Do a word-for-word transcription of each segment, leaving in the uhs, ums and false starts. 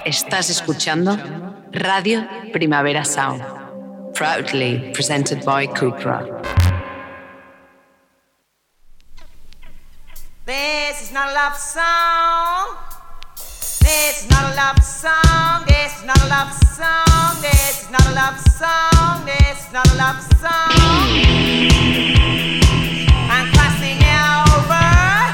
Estás escuchando Radio Primavera Sound, proudly presented by Cupra. This is not a love song. This is not a love song. This is not a love song. This is not a love song. This is not a love song. I'm crossing over.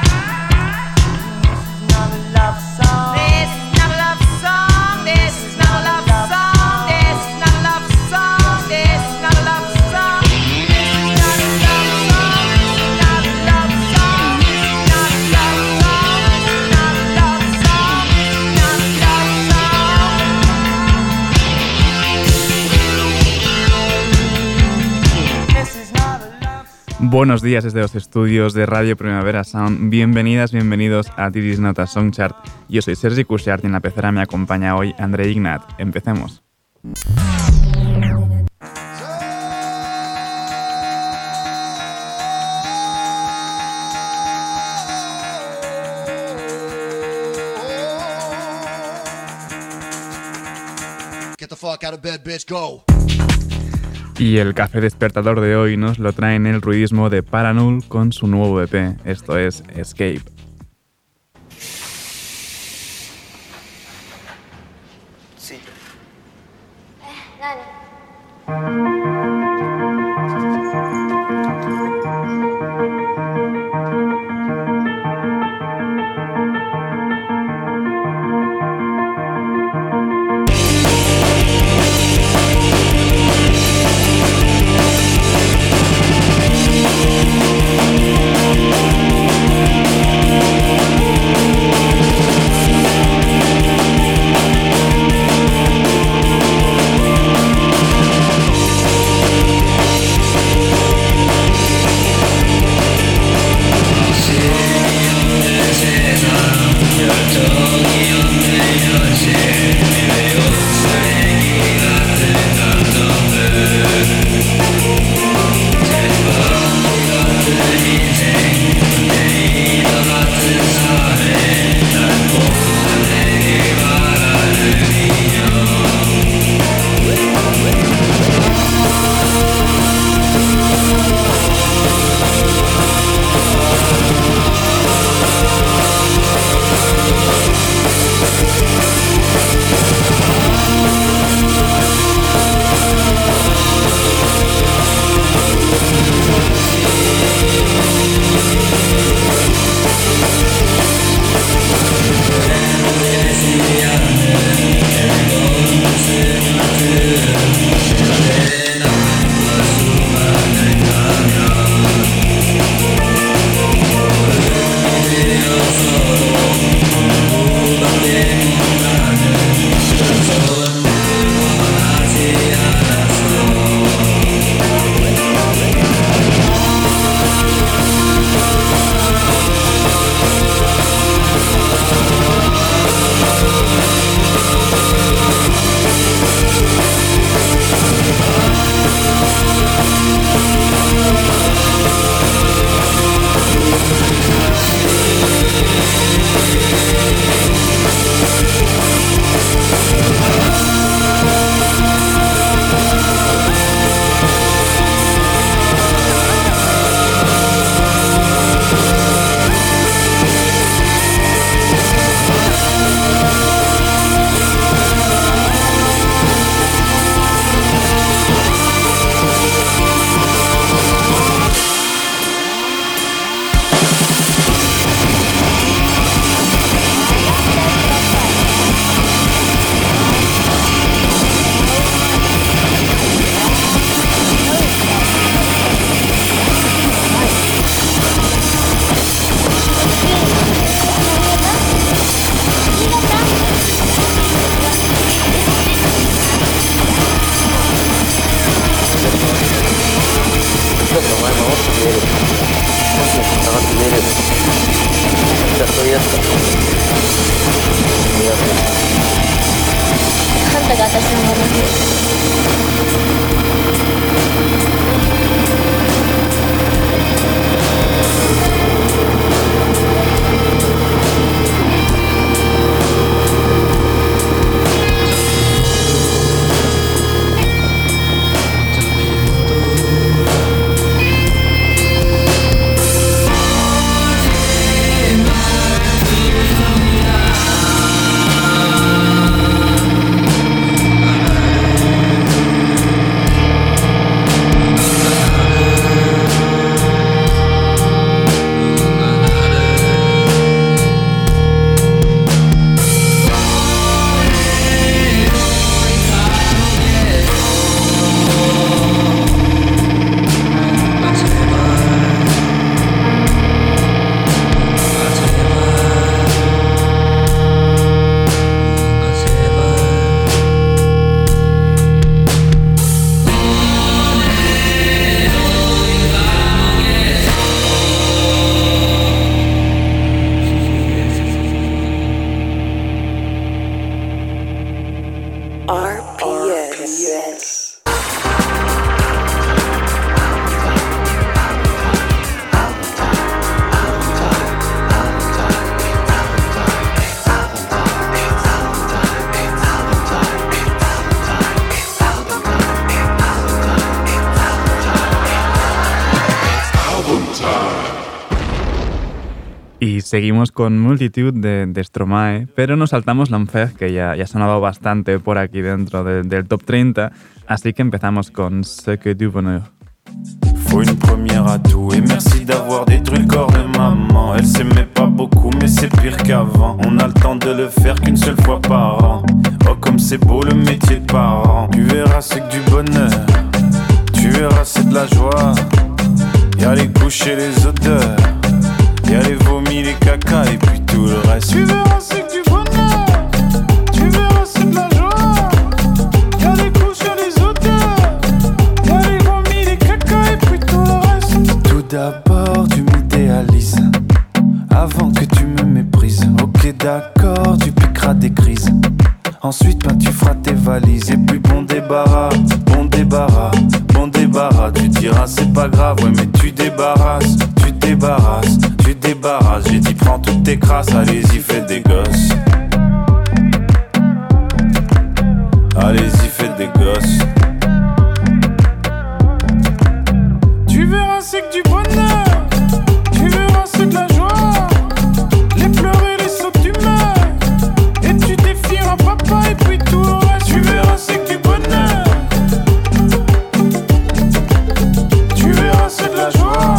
This is not a love song. This is not a love song. This is not a love song. This is not a love song. This is not a love song. This is not a love song. Not a love song. Not a love song. Not a love song. Not a love song. This is not a love song. Buenos días desde los estudios de Radio Primavera Sound. Bienvenidas, bienvenidos a This is Not a Song Chart. Yo soy Sergi Cushart y en la pecera me acompaña hoy André Ignat. Empecemos. Get the fuck out of bed, bitch, go. Y el café despertador de hoy nos lo trae en el ruidismo de Paranul con su nuevo E P. Esto es Escape. Sí. Y seguimos con Multitude de, de Stromae, pero nos saltamos l'Enfer, que ya, ya ha sonado bastante por aquí dentro de, del top treinta, así que empezamos con Ce que du bonheur. Faut une première à tout et merci d'avoir détruit le corps de maman. Elle s'aimait pas beaucoup mais c'est pire qu'avant. On a le temps de le faire qu'une seule fois par an. Oh comme c'est beau le métier de parent. Tu verras c'est que du bonheur, tu verras c'est de la joie. Y'a les couches et les odeurs, y'a les vomis, les caca et puis tout le reste. Tu verras c'est que du bonheur, tu verras c'est de la joie. Y'a les couches et les odeurs, y'a les vomis, les caca et puis tout le reste. Tout d'abord tu m'idéalises avant que tu me méprises. Ok d'accord, tu piqueras des crises. Ensuite ben tu feras tes valises. Et puis bon débarras, bon débarras, bon débarras. Tu diras c'est pas grave, ouais mais tu débarrasses, tu débarrasses, tu débarrasses. J'ai dit prends toutes tes crasses, allez-y fais des gosses. Allez-y fais des gosses. Tu verras c'est que du bonheur, tu verras c'est de la joie. Les pleurs et les sauts que tu meurs, et tu défieras papa et puis tout le reste. Tu verras c'est que du bonheur, tu verras c'est de la joie.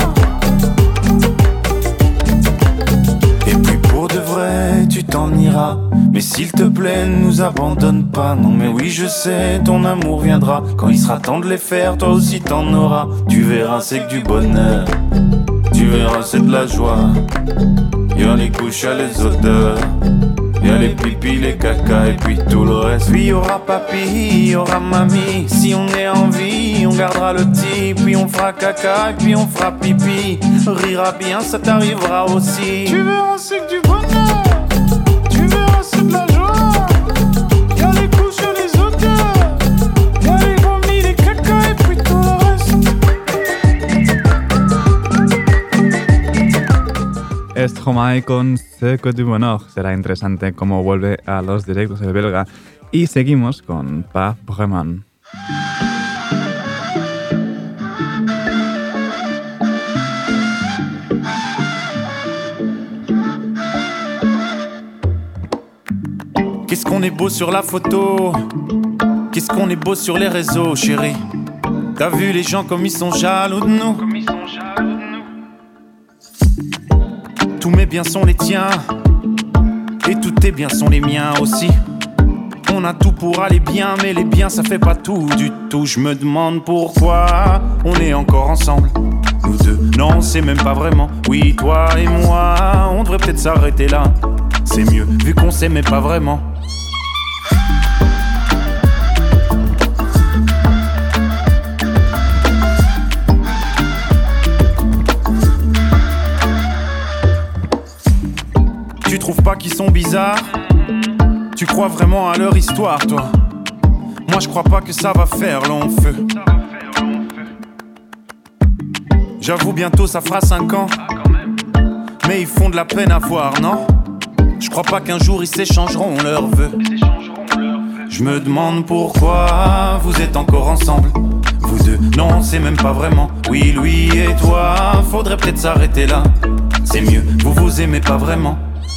Et puis pour de vrai tu t'en iras, mais s'il te plaît ne nous abandonne pas. Non mais oui je sais ton amour viendra. Quand il sera temps de les faire toi aussi t'en auras. Tu verras c'est que du bonheur, tu verras c'est de la joie. Y'a les couches, y'a les odeurs, y'a les pipis, les caca et puis tout le reste. Puis y'aura papy, y'aura mamie. Si on est en vie, on gardera le petit. Puis on fera caca et puis on fera pipi. Rira bien, ça t'arrivera aussi. Tu verras c'est que du bonheur, tu verras c'est de la joie. Y'a les couches, y'a les odeurs, y'a les vomis, les caca et puis tout le reste. Stromae con Ce que du bonheur. Será interesante cómo vuelve a los directos el belga. Y seguimos con Pas Vraiment. Qu'est-ce qu'on est beau sur la photo, qu'est-ce qu'on est beau sur les réseaux, chérie. T'as vu les gens comme ils sont jaloux de nous. Tous mes biens sont les tiens, et tous tes biens sont les miens aussi. On a tout pour aller bien, mais les biens ça fait pas tout du tout. Je me demande pourquoi on est encore ensemble, nous deux. Non c'est même pas vraiment, oui toi et moi. On devrait peut-être s'arrêter là, c'est mieux vu qu'on s'aimait pas vraiment. Tu trouves pas qu'ils sont bizarres? Tu crois vraiment à leur histoire, toi? Moi je crois pas que ça va faire long feu. J'avoue bientôt ça fera cinq ans, mais ils font de la peine à voir, non? Je crois pas qu'un jour ils s'échangeront leurs vœux. Je me demande pourquoi vous êtes encore ensemble, vous deux. Non c'est même pas vraiment, oui lui et toi. Faudrait peut-être s'arrêter là, c'est mieux, vous vous aimez pas vraiment.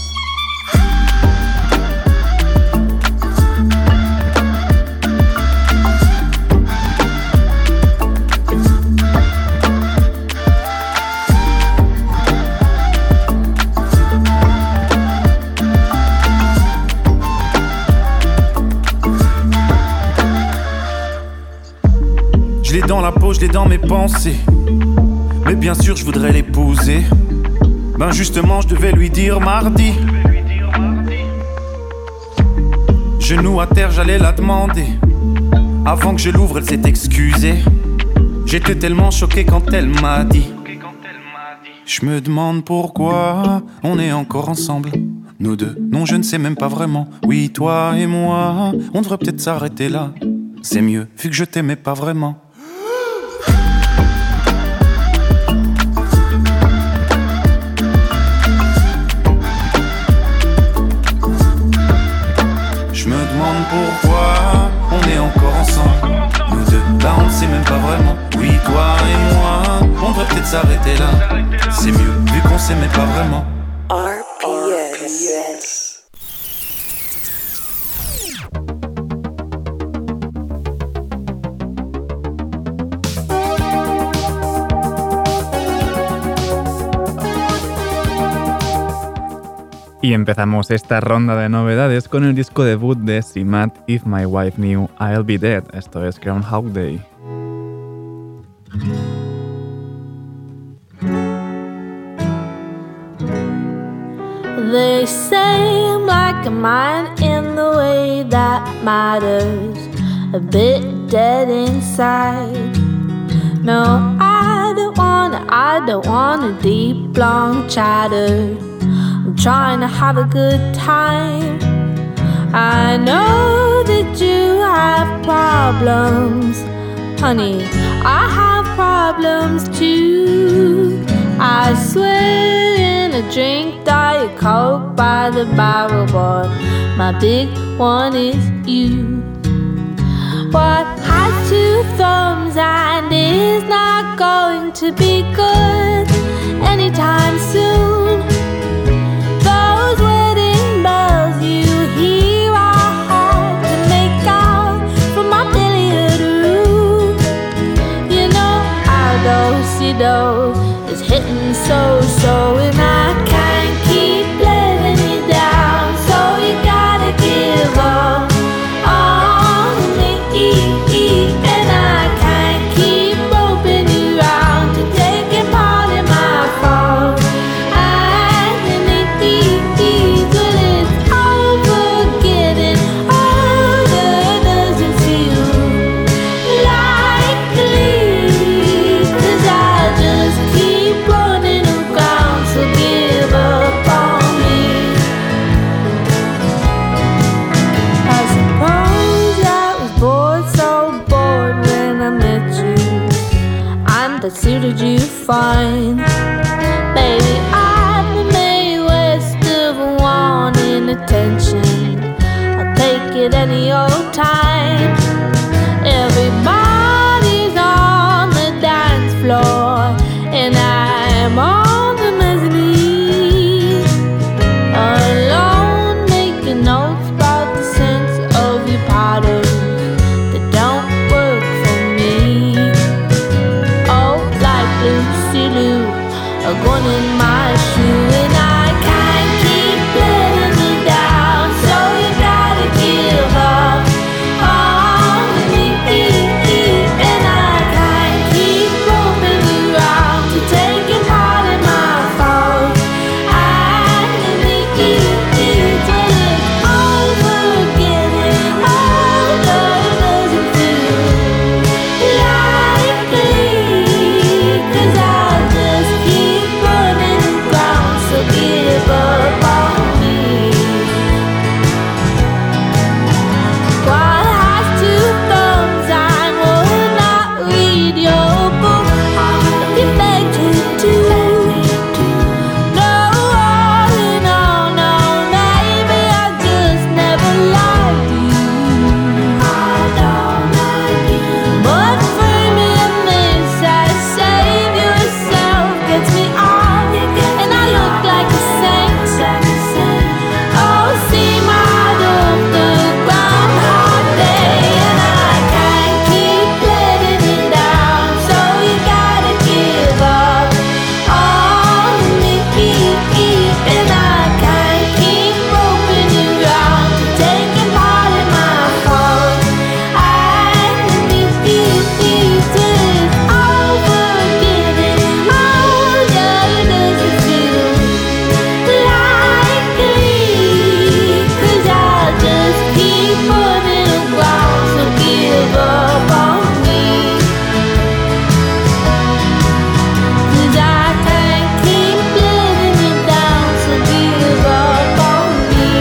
Je l'ai dans la peau, je l'ai dans mes pensées. Mais bien sûr je voudrais l'épouser. Ben justement je devais lui dire mardi. Genou à terre j'allais la demander. Avant que je l'ouvre elle s'est excusée. J'étais tellement choqué quand elle m'a dit. Je me demande pourquoi on est encore ensemble, nous deux. Non je ne sais même pas vraiment, oui toi et moi. On devrait peut-être s'arrêter là, c'est mieux vu que je t'aimais pas vraiment. Je me demande pourquoi on est encore ensemble, nous deux. Là on ne sait même pas vraiment, oui toi et moi. On devrait peut-être s'arrêter là, c'est mieux vu qu'on s'aimait pas vraiment. Yes. Y empezamos esta ronda de novedades con el disco debut de Simat, If My Wife Knew, I'll Be Dead. Esto es Groundhog Day. They say I'm like a mind in the way that matters, a bit dead inside. No, I don't wanna, I don't want a deep, long chatter. I'm trying to have a good time. I know that you have problems, honey, I have problems too. I swear in a drink Diet Coke by the barrel, but my big one is you. What has two thumbs and is not going to be good anytime soon. Those wedding bells you hear are hard to make out from my billiard room. You know our do-si-do is hitting so-so, and I can't keep letting you down, so you gotta give up on me, and I can't keep roping you round to taking part in my fault. And it easy, but it's over getting older, doesn't feel likely, 'cause I just keep running around, so give up on me. I suppose I was bored, so bored when I met you, and that suited you fine. Baby, I'm the Mae West of wanting attention. I'll take it any old time. Everybody's on the dance floor, and I'm on the mezzanine, alone making notes about the sense of your patterns that don't work for me. Oh, like Lucy Lou, a gun in my shoe, and I can't keep letting you down, so you gotta give up on me, and I can't keep roping you round to taking part in my fault. And it is when it's over getting older, doesn't feel likely, 'cause I just keep running around, so give up on me. What has two thumbs and would not read your book? You beg to do. No, no, no, maybe I just never liked you. I don't like you. But framing this as save yourself gets me off, and I look like a saint. Oh, see my doctor, Groundhog Day, and I can't keep letting you down, so you gotta give up on me, and I can't keep roping you round to taking part in my fault. And it is over getting older, doesn't feel likely, 'cause I just keep running around, so give up on me, 'cause I can't keep letting you down, so give up on me,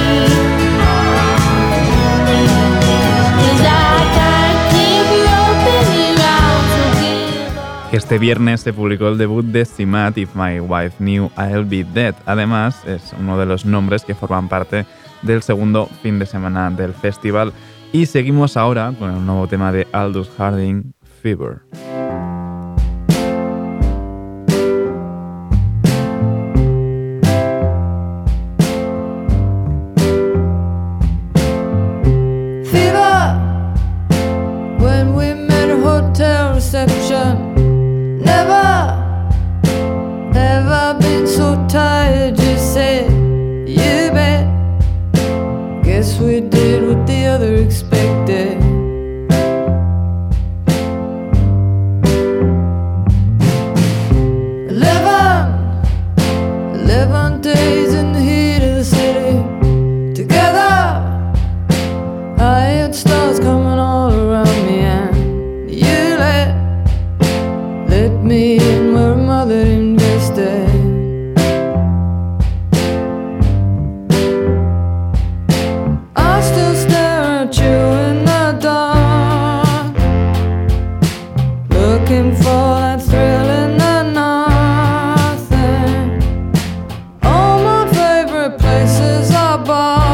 'cause I can't keep roping you round, so give up. Este viernes se publicó el debut de Simat, If My Wife Knew, I'll Be Dead. Además, es uno de los nombres que forman parte del segundo fin de semana del festival. Y seguimos ahora con el nuevo tema de Aldous Harding, Fever. Fever when we met a hotel reception. Never ever been so tired, you said. You bet. Guess we did what the other expected. Eleven, eleven days in the heat of the city. Together, I had stars coming all around me, and you let, let me in where mother invested. I still stare at you in the dark, looking for that thrill in the nothing. All my favorite places are bars.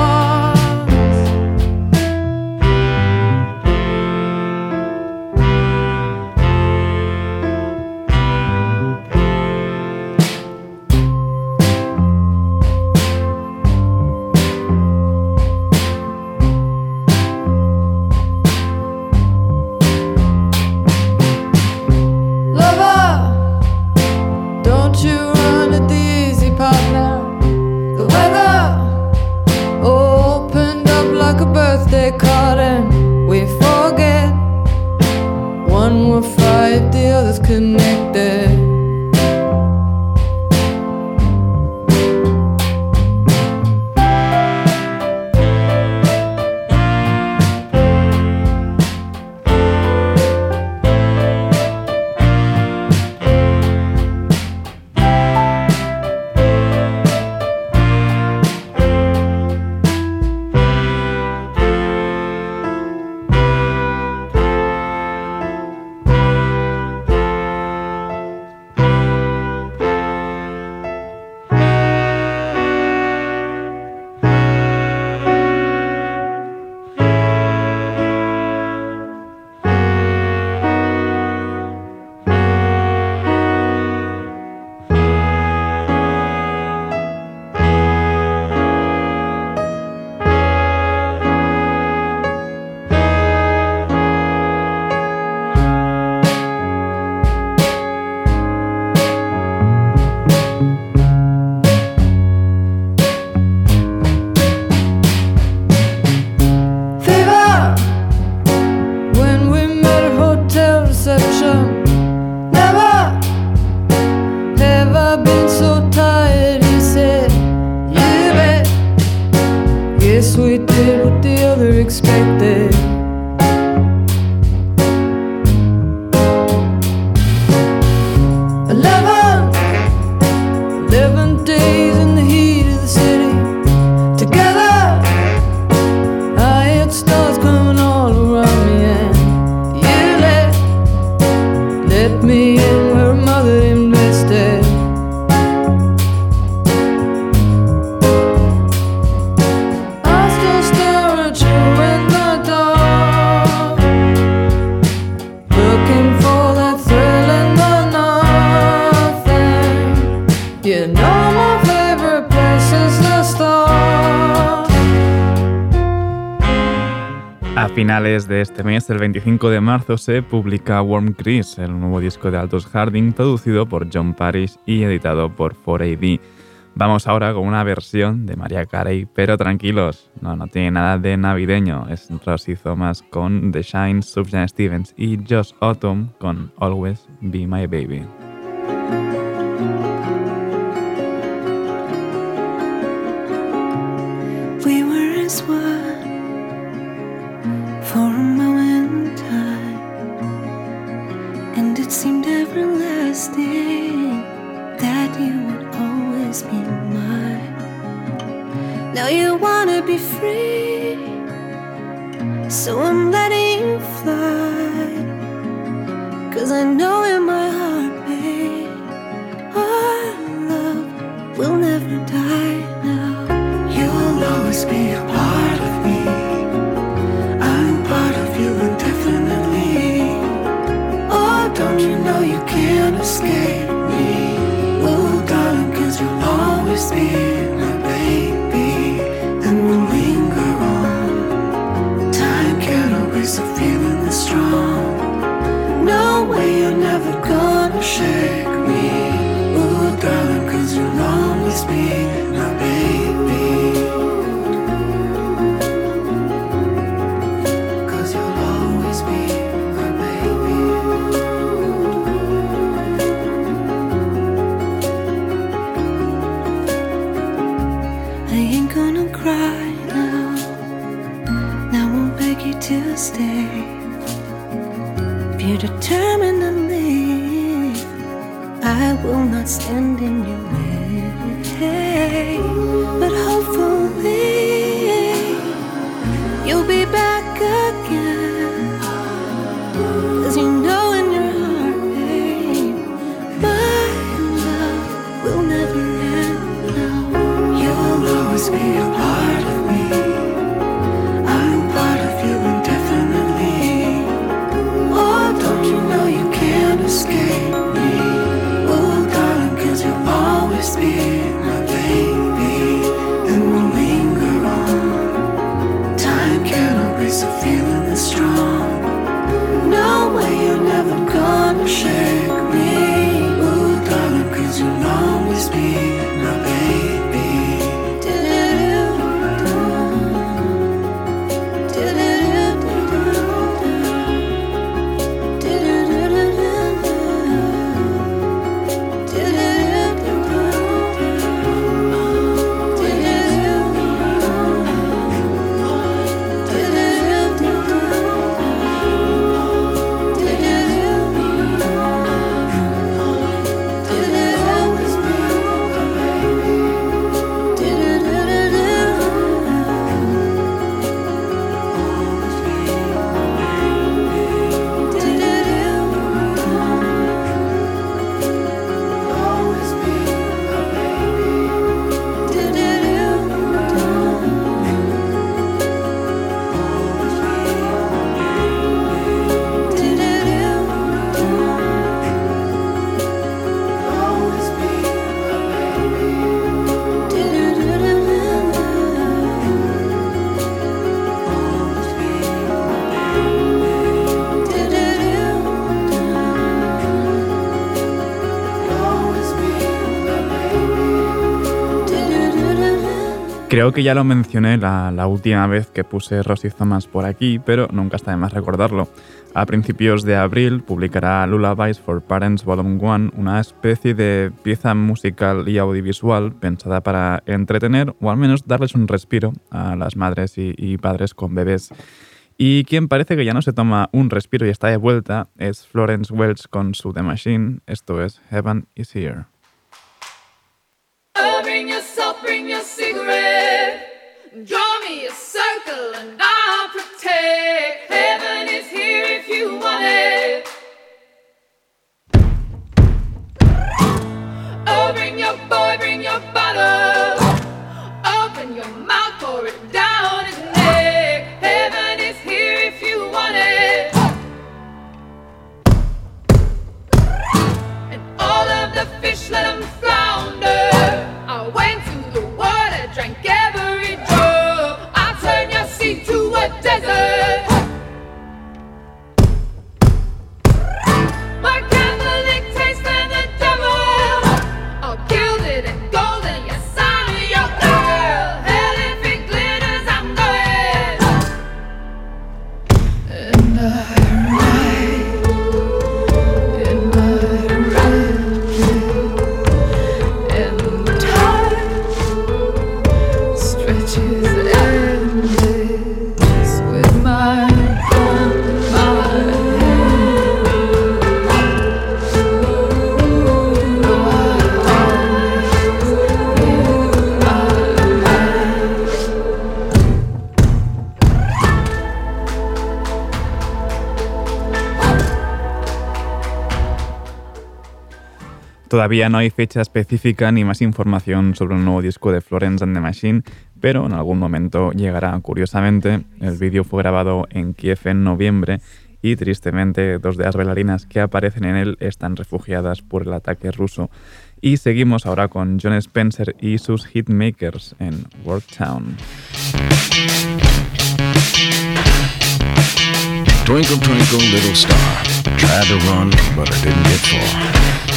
Lover, don't you run at the easy part now. The weather opened up like a birthday card, and we forget. One we're five, the other's connected. Fever when we met at hotel reception. Never ever been so tired, he said. You bet. Guess we did what the other expected. Eleven, eleven days in the heat of the city. Together, I had stars coming all around me, and you let, let me in where mother invested. I still stare at you in the dark, looking for that thrill in the nothing. You know my favorite place is the start. A finales de este mes, el veinticinco de marzo, se publica Warm Grease, el nuevo disco de Aldous Harding, producido por John Parish y editado por cuatro A D. Vamos ahora con una versión de Mariah Carey, pero tranquilos, no, no tiene nada de navideño. Es Rosie Thomas con The Shine, Sufjan Stevens y Josh Autumn con Always Be My Baby. We were as one for a moment in time, and it seemed everlasting that you would always be mine. Now you wanna be free, so I'm letting you fly, 'cause I know in my heart, babe, our love will never die now. You'll always be a part of me, I'm part of you indefinitely. Oh, don't you know you can't escape me? Oh, darling, 'cause you'll always be my baby, and we'll linger on. Time will stay. If you're determined to leave, I will not stand in your way. But hopefully you'll be back again, 'cause you know in your heart, babe, my love will never end. No, you'll always be a part of me. I'm part of you indefinitely. Oh, don't you know you can't escape me? Oh, darling, 'cause you'll always be my baby, and we'll linger on. Time can't erase a feeling that's strong. No way, you're never gonna shake me. Oh, darling, 'cause you'll always be my baby. Creo que ya lo mencioné la, la última vez que puse Rosie Thomas por aquí, pero nunca está de más recordarlo. A principios de abril publicará Lullabies for Parents Volume uno, una especie de pieza musical y audiovisual pensada para entretener o al menos darles un respiro a las madres y, y padres con bebés. Y quien parece que ya no se toma un respiro y está de vuelta es Florence Welch con su The Machine. Esto es Heaven is Here. Oh, bring yourself, bring your cigarette. Draw me a circle and I'll protect. Heaven is here if you want it. Oh, bring your boy, bring your bottle. Open your mouth, pour it down his neck. Heaven is here if you want it. And all of the fish, let them flounder. I went to the water, drank every drop. I turned your sea to a desert. My Catholic taste than the devil. All gilded and golden, yes, I'm your girl. Hell, if it glitters, I'm going. And I ride in my red. Todavía no hay fecha específica ni más información sobre un nuevo disco de Florence and the Machine, pero en algún momento llegará. Curiosamente, el vídeo fue grabado en Kiev en noviembre y, tristemente, dos de las bailarinas que aparecen en él están refugiadas por el ataque ruso. Y seguimos ahora con Jon Spencer y sus hitmakers en Worktown. Twinkle, twinkle, little star. Tried to run, but I didn't get far.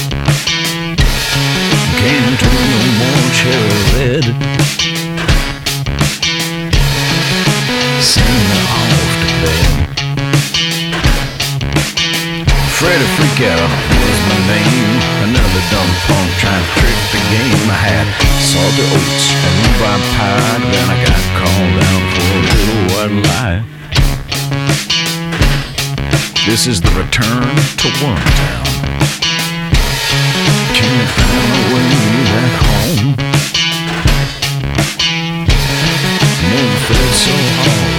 Came to no more cherry red. Send me off to bed. Freddy Freakout was my name. Another dumb punk trying to trick the game. I had salty oats and rhubarb pie. Then I got called down for a little white lie. This is the return to Wormtown. Can't find my way back home. Never felt so home.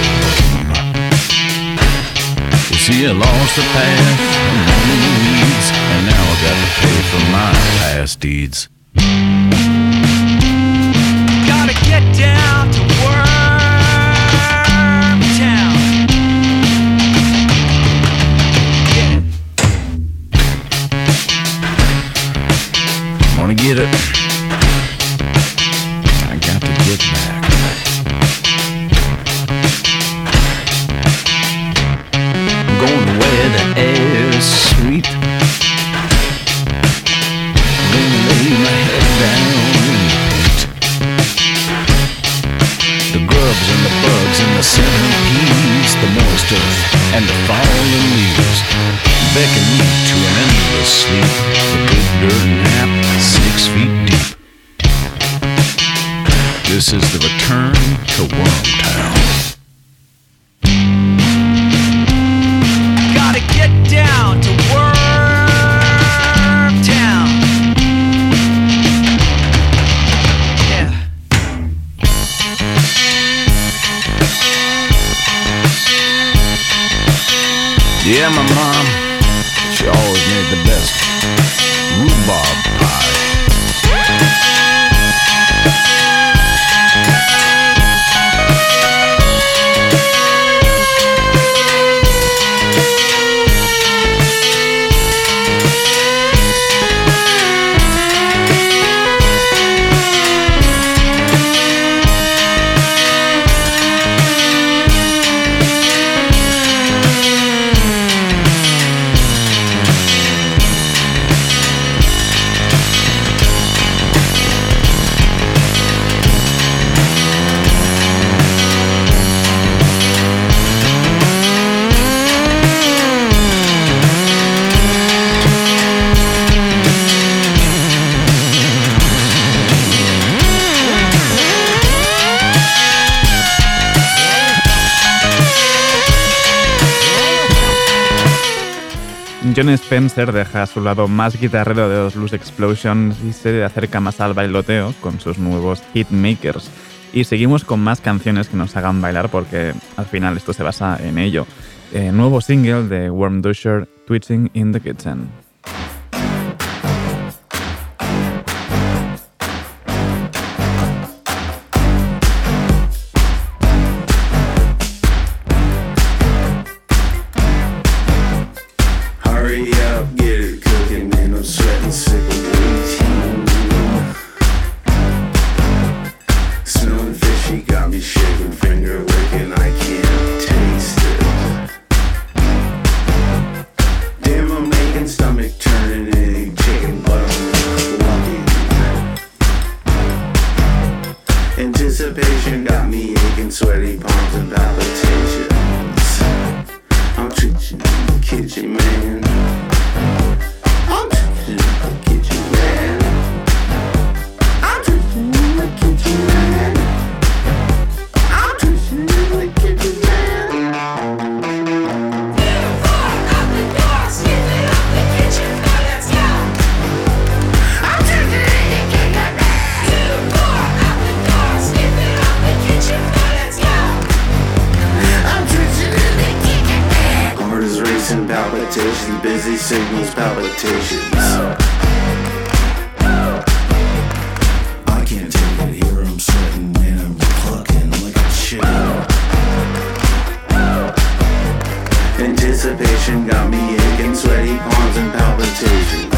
You see, I lost the path and the weeds, and now I got to pay for my past deeds. Gotta get down to Wormtown. Yeah. Wanna get it? I got to get back. I'm going where the air's sweet. Gonna lay my head down in the pit. The grubs and the bugs and the centipedes, the moist earth and the fallen leaves beckon me to an endless sleep. A good dirt nap, six feet deep. This is the return to Wormtown. Gotta get down to Wormtown. Yeah. Yeah, my mom, she always made the best rhubarb pie. Jon Spencer deja a su lado más guitarrero de los Loose Explosions y se acerca más al bailoteo con sus nuevos hitmakers. Y seguimos con más canciones que nos hagan bailar porque al final esto se basa en ello. Eh, nuevo single de Worm Dusher, Twitching in the Kitchen. Anticipation got me aching, sweaty palms and palpitations. I'm treating the kitchen, man. I'm treating the kitchen, man. I'm treating the kitchen, man. I'm treating the kitchen, man. Two, four, out the door, sniffing up the kitchen, now let's go. I'm treating the kitchen, man. Two, four, out the door, sniffing up the kitchen, now let's go. I'm treating the kitchen, man. Heart is racing, palpitations, busy signals, palpitations. I can't take it here, I'm sweating and I'm clucking like a chicken. Anticipation got me aching, sweaty palms and palpitations.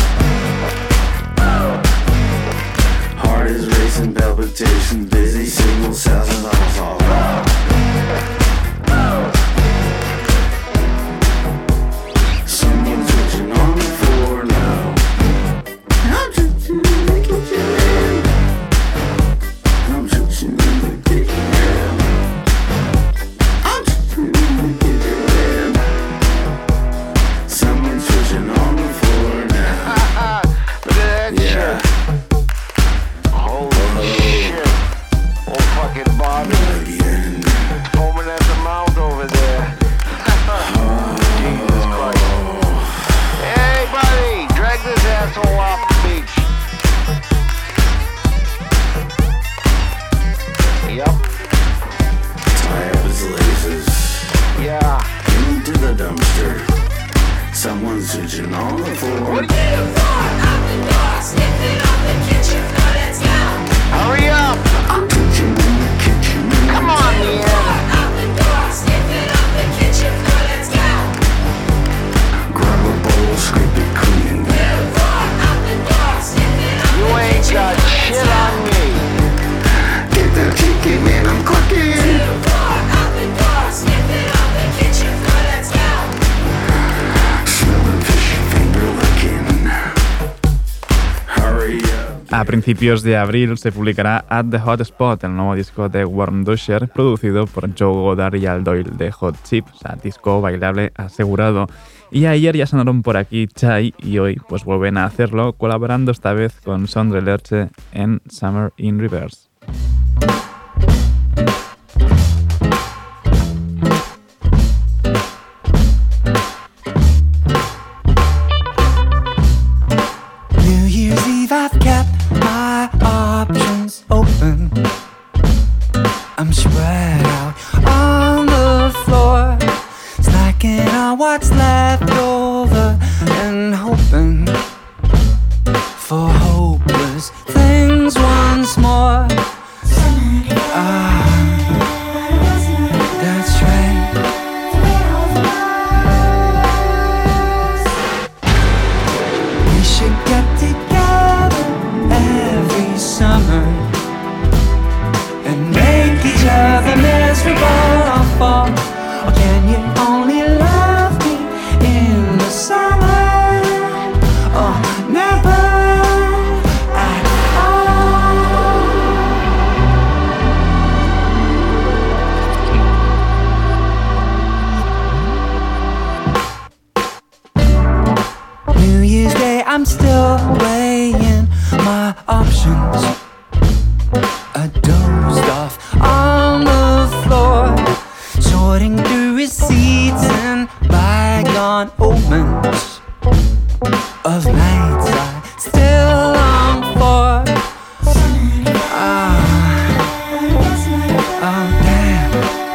Heart is racing, palpitations, busy signals, sounds and all fall. Someone's switching on the floor now. What are you for? Out the door, sniffing on the kitchen floor. Let's go. Hurry up! I'm cooking in the kitchen. Come on, yeah. Out the door, sniffing on the kitchen floor. Let's go. Grab a bowl, scrape it clean. You for? Out the door, sniffing on you the ain't kitchen got floor. Shit on me. Get the chicken and I'm cooking. You for? Out the door, sniffing on the kitchen floor. Let's go. Smelling fishy finger licking. Hurry up. A principios de abril se publicará At the Hot Spot, el nuevo disco de Warm Dusher, producido por Joe Goddard y Al Doyle de Hot Chip, o sea, disco bailable asegurado. Y ayer ya sonaron por aquí Chai y hoy pues vuelven a hacerlo, colaborando esta vez con Sondre Lerche en Summer in Reverse. New Year's Eve, I've kept my options open. I'm spread out on the floor, snacking on what's left over and hoping for hopeless things once more. Ah, that's right. We should get together every summer and make each other miserable all fall. Or can you only love me in the summer? Or never at all? New Year's Day, I'm still weighing my options. I dozed off on the floor, sorting through receipts and bygone omens of nights I still long for. Ah, oh damn.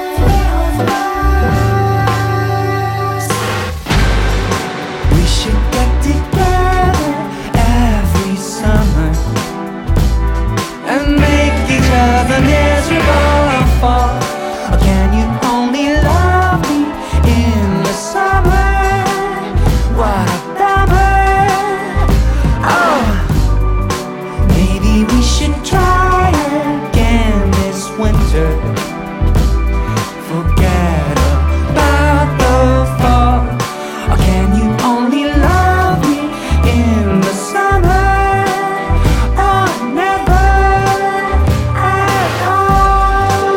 We should get together every summer and make each other miserable and fall. Or can you only love me in the summer? What a bummer. Oh, maybe we should try again this winter. Forget about the fall. Or can you only love me in the summer? Or never at all?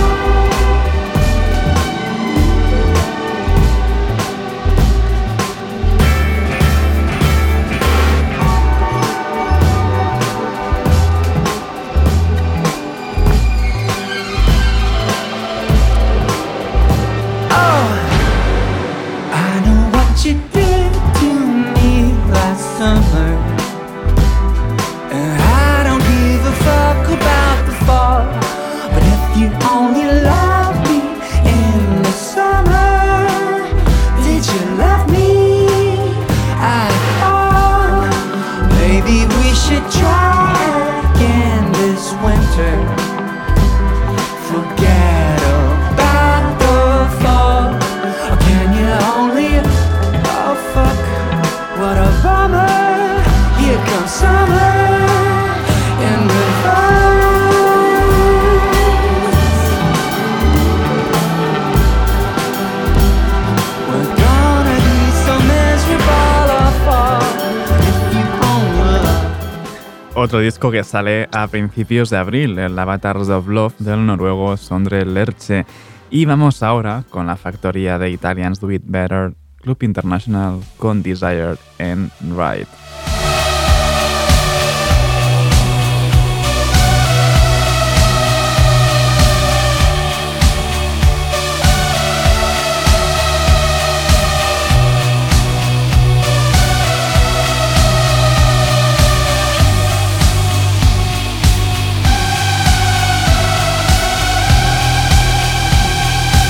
Oh, I know what you did to me last summer, and I don't give a fuck about the fall. But if you only love me in the summer, did you love me at all? Maybe we should try again this winter. Forget about the fall. Or can you only? Oh fuck, what a bummer. Here comes summer in reverse. We're gonna be so miserable all fall if you only love. Otro disco que sale a principios de abril, el Avatars of Love del noruego Sondre Lerche. Y vamos ahora con la factoría de Italians Do It Better, Club International con Desired en Ride.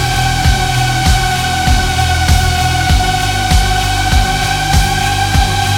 Thank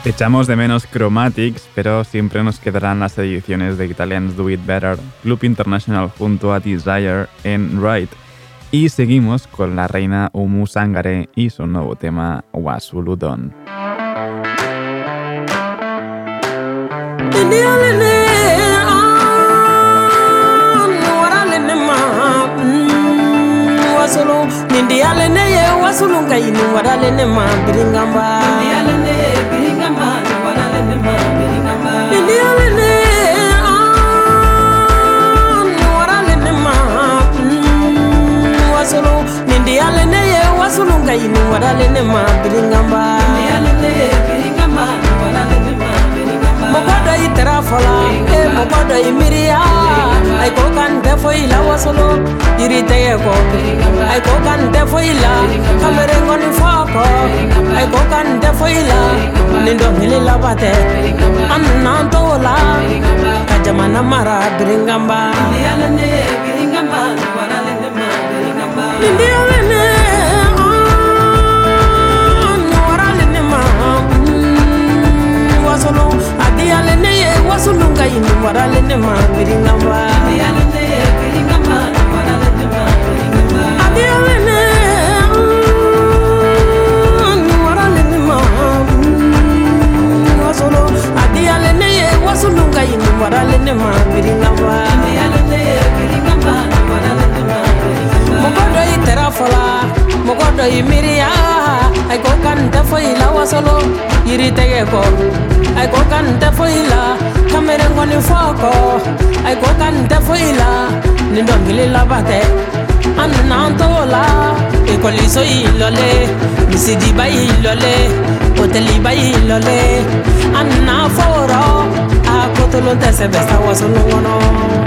Echamos de menos Chromatics, pero siempre nos quedarán las ediciones de Italians Do It Better, Club International junto a Desire en Right. Y seguimos con la reina Umu Sangare y su nuevo tema Wasuludon. Wasulu nindi alene ye wasulu ngaini warale ne ma biringamba nindi alene biringamba warale ne ma biringamba nindi alene warale ne ma wasulu nindi alene ye wasulu ngaini warale ne ma biringamba nindi alene biringamba warale ne ma biringamba mokodo itera fola e mokodo imiria ay ko kan defo ila wasulu irite ko ay ko kan defo ila kamere ngoni foko ay ko kan defo ila nindo ngili labate amna tola kajamana mara biringamba yalane biringamba warale ne ma biringamba yalane warale ne ma wasolo adiyalane ye wasulu ngai ni warale ne ma biringamba yalane biringamba warale ne ma biringamba adiyalane warale ne ma wasolo adiyalane ye wasulu ngai ni warale ne ma biringamba yalane biringamba warale ne ma biringamba mokodo itera fola mokodo imiria ay ko kan defo ila wasolo yiri tege ko ay ko kan defo ila kamere ngoni foko ay ko kan defo ila nindo ngili labate anna tola e ko liso ilole misidi ba ilole hoteli ba ilole anna foro akotolo tese besta wasolo ngono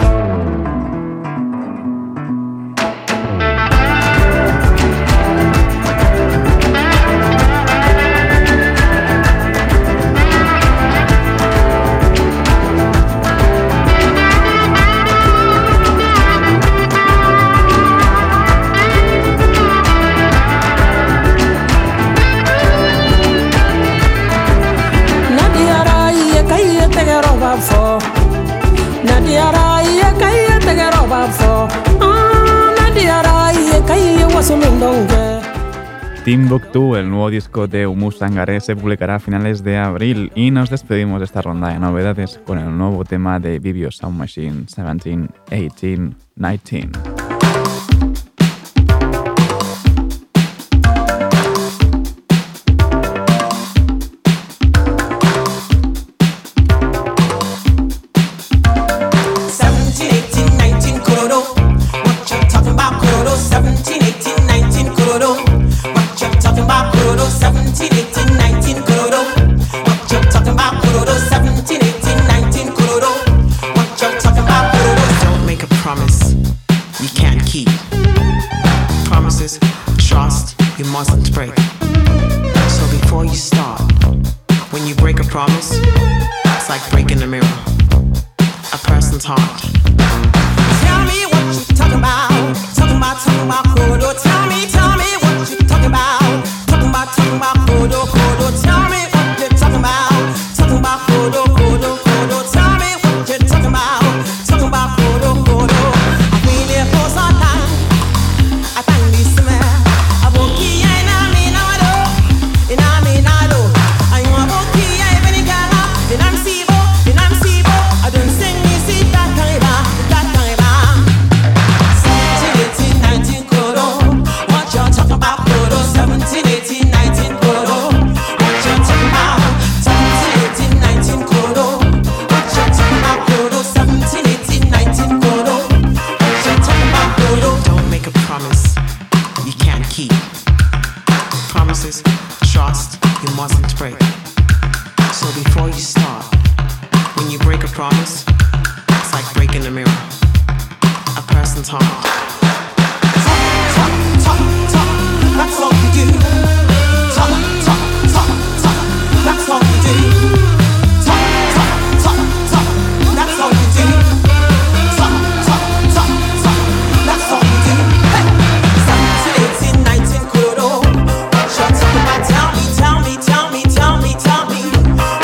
Timbuktu, el nuevo disco de Umu Sangare, se publicará a finales de abril y nos despedimos de esta ronda de novedades con el nuevo tema de Vivio Sound Machine seventeen, eighteen, nineteen. Tell me, tell me, tell me, tell me.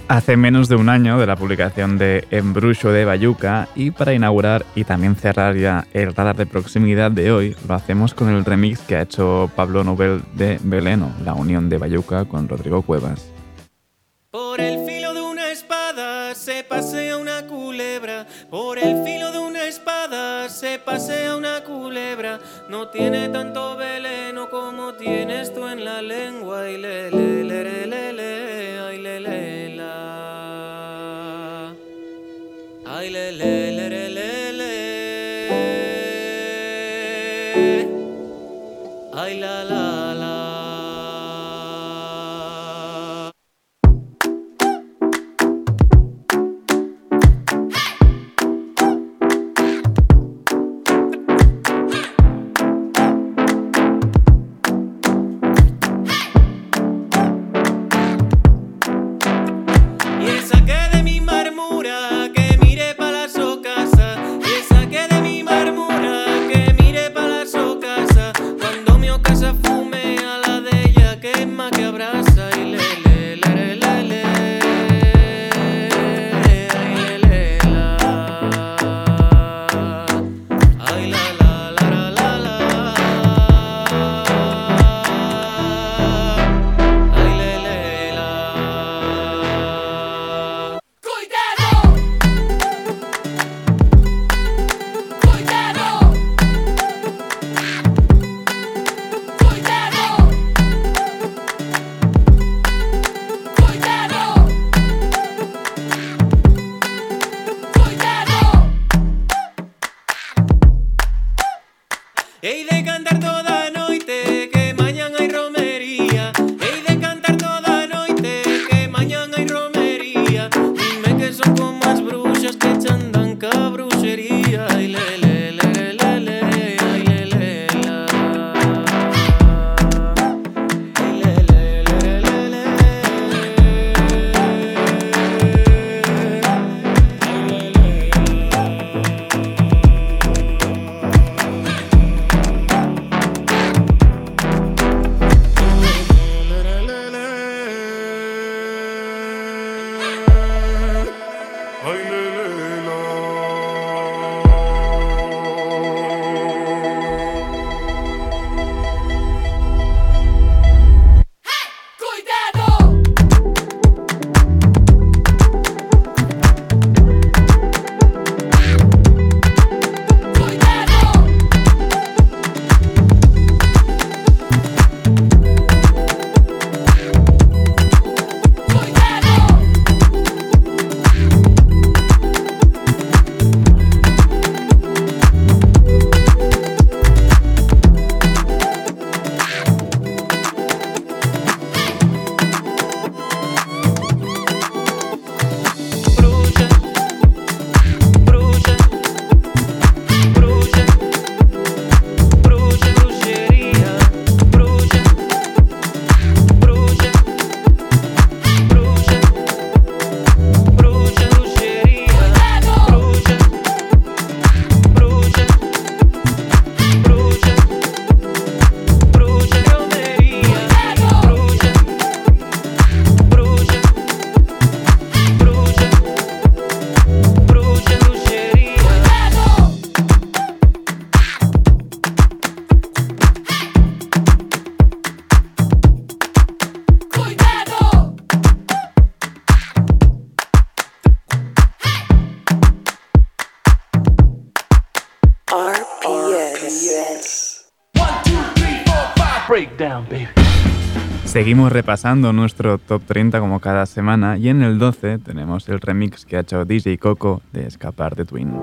Hace menos de un año de la publicación de Embruxo de Bayuca, y para inaugurar y también cerrar ya el radar de proximidad de hoy, lo hacemos con el remix que ha hecho Pablo Nobel de Veleno, la unión de Bayuca con Rodrigo Cuevas. Por el filo de una espada se pasea una culebra. Por el filo de una espada se pasea una culebra. No tiene tanto veleno como tienes tú en la lengua. Y le le le le le le, ay le le la. Ay le le le le le le. Ay la la la. Seguimos repasando nuestro top treinta como cada semana, y en el doce tenemos el remix que ha hecho D J Coco de Escapar de Twin.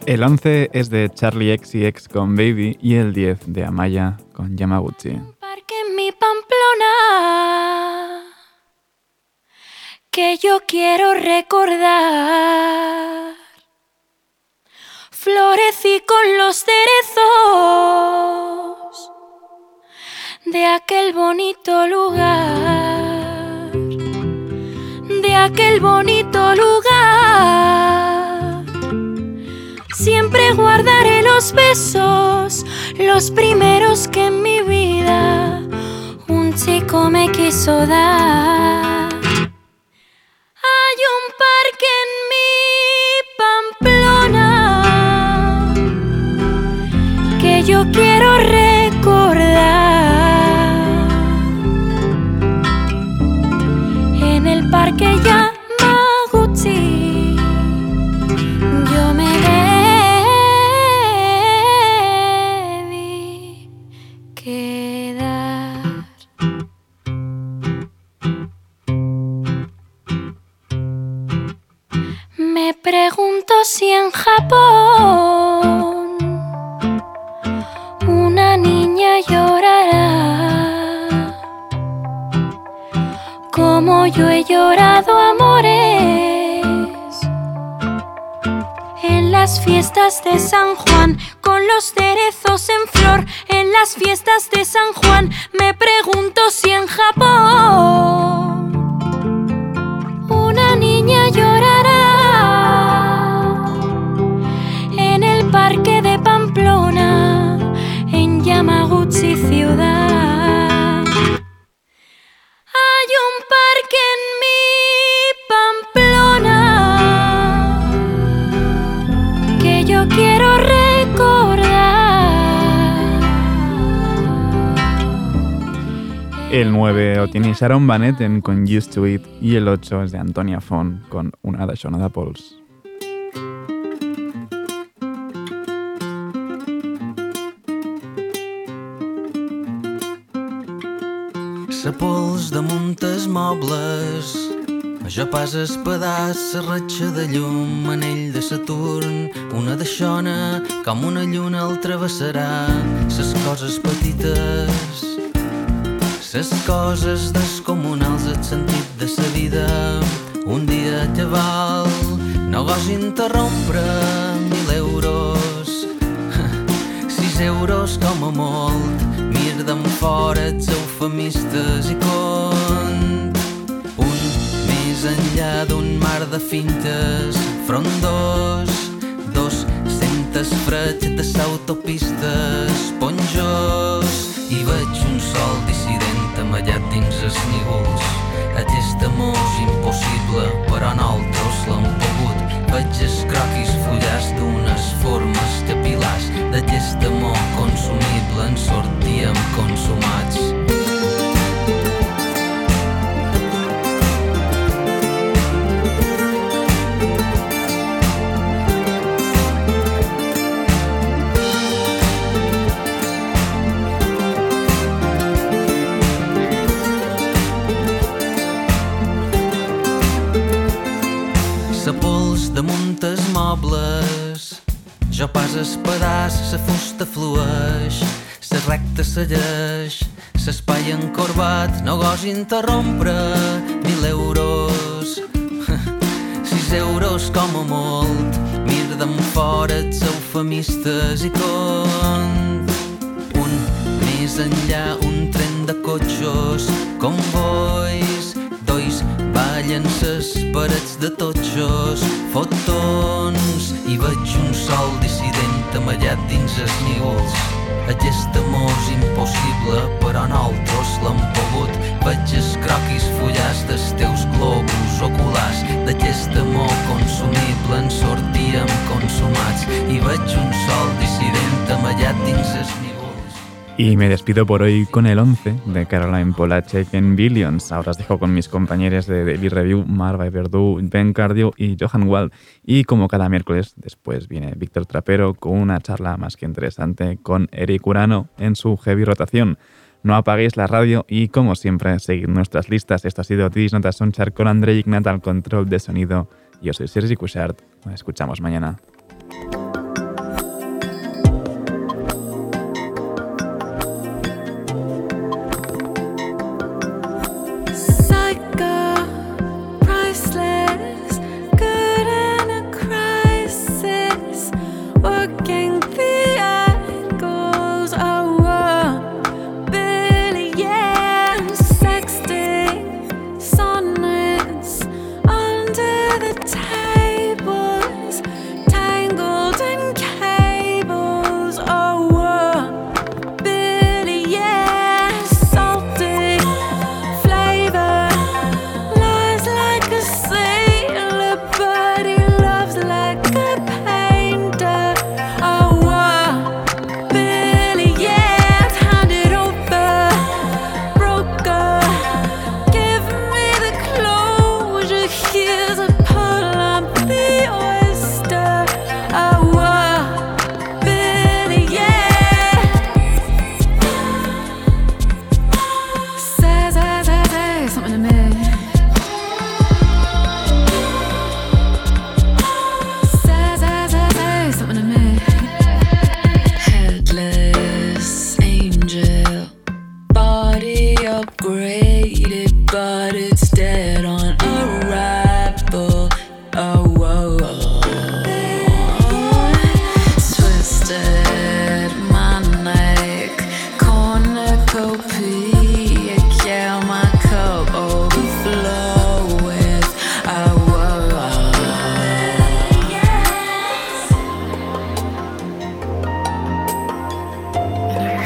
El once es de Charlie X C X con Baby y el diez de Amaya con Yamaguchi. Parque en mi Pamplona que yo quiero recordar. Florecí con los cerezos de aquel bonito lugar, de aquel bonito lugar. Siempre guardaré los besos, los primeros que en mi vida un chico me quiso dar. Hay un parque en mi Pamplona que yo quiero recordar. En el parque Yamaguchi yo me debí quedar. Me pregunto si en Japón una niña llorará como yo he llorado amores en las fiestas de San Juan, con los cerezos en flor. En las fiestas de San Juan me pregunto si en Japón una niña llorará en el parque de Pamplona, en Yamaguchi ciudad. Hay un parque en mi Pamplona que yo quiero recordar. El nueve lo tiene Sharon Van Etten con Used to It y el ocho es de Antonia Font con Una d'aixona de pols. Sa pols damunt els mobles, jo pas el pedaç, la ratxa de llum, anell de Saturn, una d'aixona, com una lluna el travessarà, ses coses petites, ses coses descomunals, el sentit de sa vida, un dia que val, no gos interrompre, mil euros, sis euros com a molt, mir d'en fora els eufemistes i cont, un més enllà d'un mar de fintes, frondós, dos centes freds de s'autopistes, ponjós, i veig un sol dissident amallat dins els nígols. Aquest amor és impossible, però nosaltres l'hem pogut. Veig els croquis fullats d'unes formes capil·lars. D'aquest amor consumible en sortíem consumats. Sa pols damunt els mobles, jo pas es pedaç, sa fusta flueix, sa recta segueix, s'espai encorbat, no gos interrompre, mil euros, sis euros com a molt, mir d'en fora els eufemistes i cont, un més enllà un tren de cotxos, convois, dois ballen ses parets de totxos, fotons, i veig un sol dissident amallat dins els nígols. Aquest amor és impossible, però nosaltres l'hem pogut. Veig els croquis fullats dels teus globus oculars. D'aquest amor consumible en sortíem consumats. I veig un sol dissident amallat dins els nígols. Y me despido por hoy con el once de Caroline Polachek en Billions. Ahora os dejo con mis compañeros de Daily Review, Marva Verdú, Ben Cardio y Johan Wald. Y como cada miércoles, después viene Víctor Trapero con una charla más que interesante con Eric Urano en su Heavy Rotación. No apaguéis la radio y, como siempre, seguid nuestras listas. Esto ha sido Tidis Notas Sonchar con André Ignat al control de sonido. Yo soy Sergi Cuixart. Nos escuchamos mañana.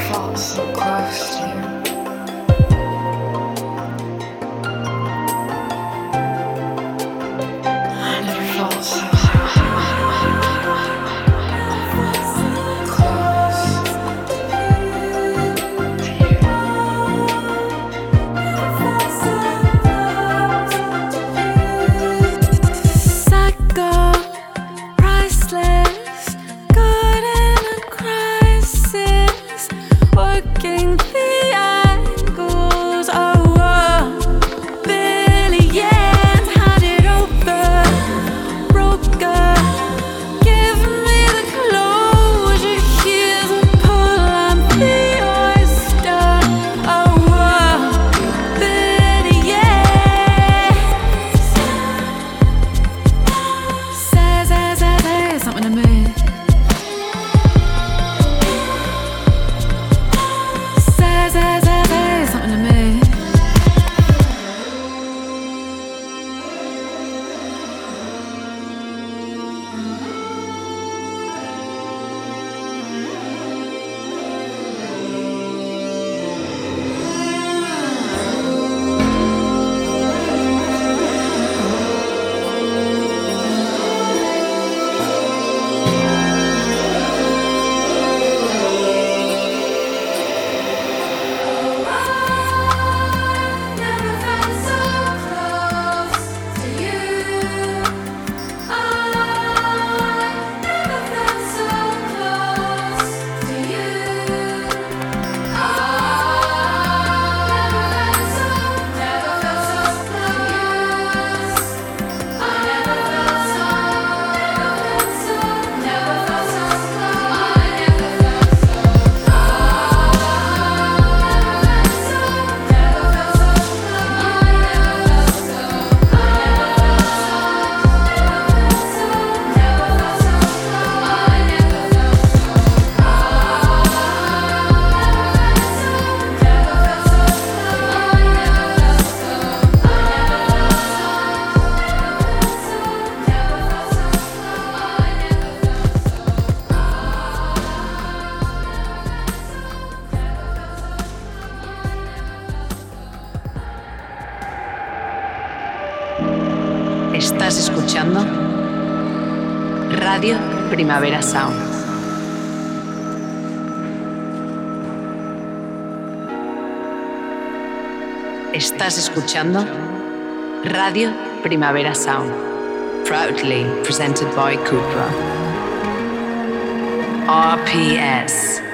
felt so close to you. I never felt so Estás escuchando Radio Primavera Sound. Estás escuchando Radio Primavera Sound. Proudly presented by Cupra. R P S.